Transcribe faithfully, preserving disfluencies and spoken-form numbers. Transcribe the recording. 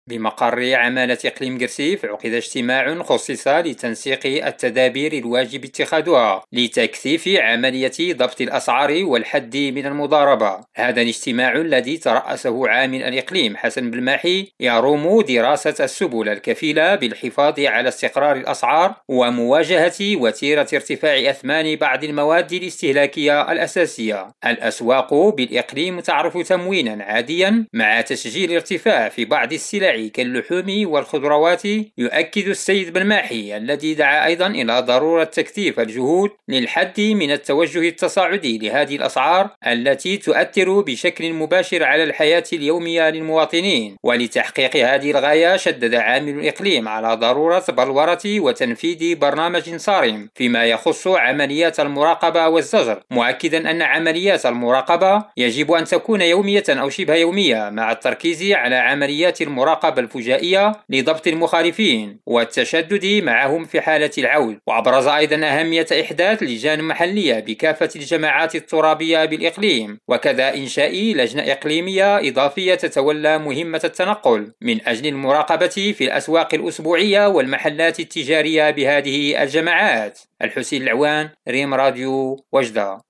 بمقر عمالة إقليم قرسيف عقد اجتماع خصص لتنسيق التدابير الواجب اتخاذها لتكثيف عملية ضبط الأسعار والحد من المضاربة. هذا الاجتماع الذي ترأسه عامل الإقليم حسن بالماحي يروم دراسة السبل الكفيلة بالحفاظ على استقرار الأسعار ومواجهة وتيرة ارتفاع أثمان بعض المواد الاستهلاكية الأساسية. الأسواق بالإقليم تعرف تموينا عاديا مع تسجيل ارتفاع في بعض السلع كاللحوم والخضروات. يؤكد السيد بالماحي الذي دعا أيضا إلى ضرورة تكثيف الجهود للحد من التوجه التصاعدي لهذه الأسعار التي تؤثر بشكل مباشر على الحياة اليومية للمواطنين. ولتحقيق هذه الغاية شدد عامل الإقليم على ضرورة بلورة وتنفيذ برنامج صارم فيما يخص عمليات المراقبة والزجر، مؤكدا أن عمليات المراقبة يجب أن تكون يومية أو شبه يومية مع التركيز على عمليات المراقبة الفجائية لضبط المخالفين والتشدد معهم في حالة العود. وأبرز أيضا أهمية إحداث لجان محلية بكافة الجماعات الترابية بالإقليم، وكذا إنشاء لجنة إقليمية إضافية تتولى مهمة التنقل من أجل المراقبة في الأسواق الأسبوعية والمحلات التجارية بهذه الجماعات. الحسين العوان، ريم راديو، وجدة.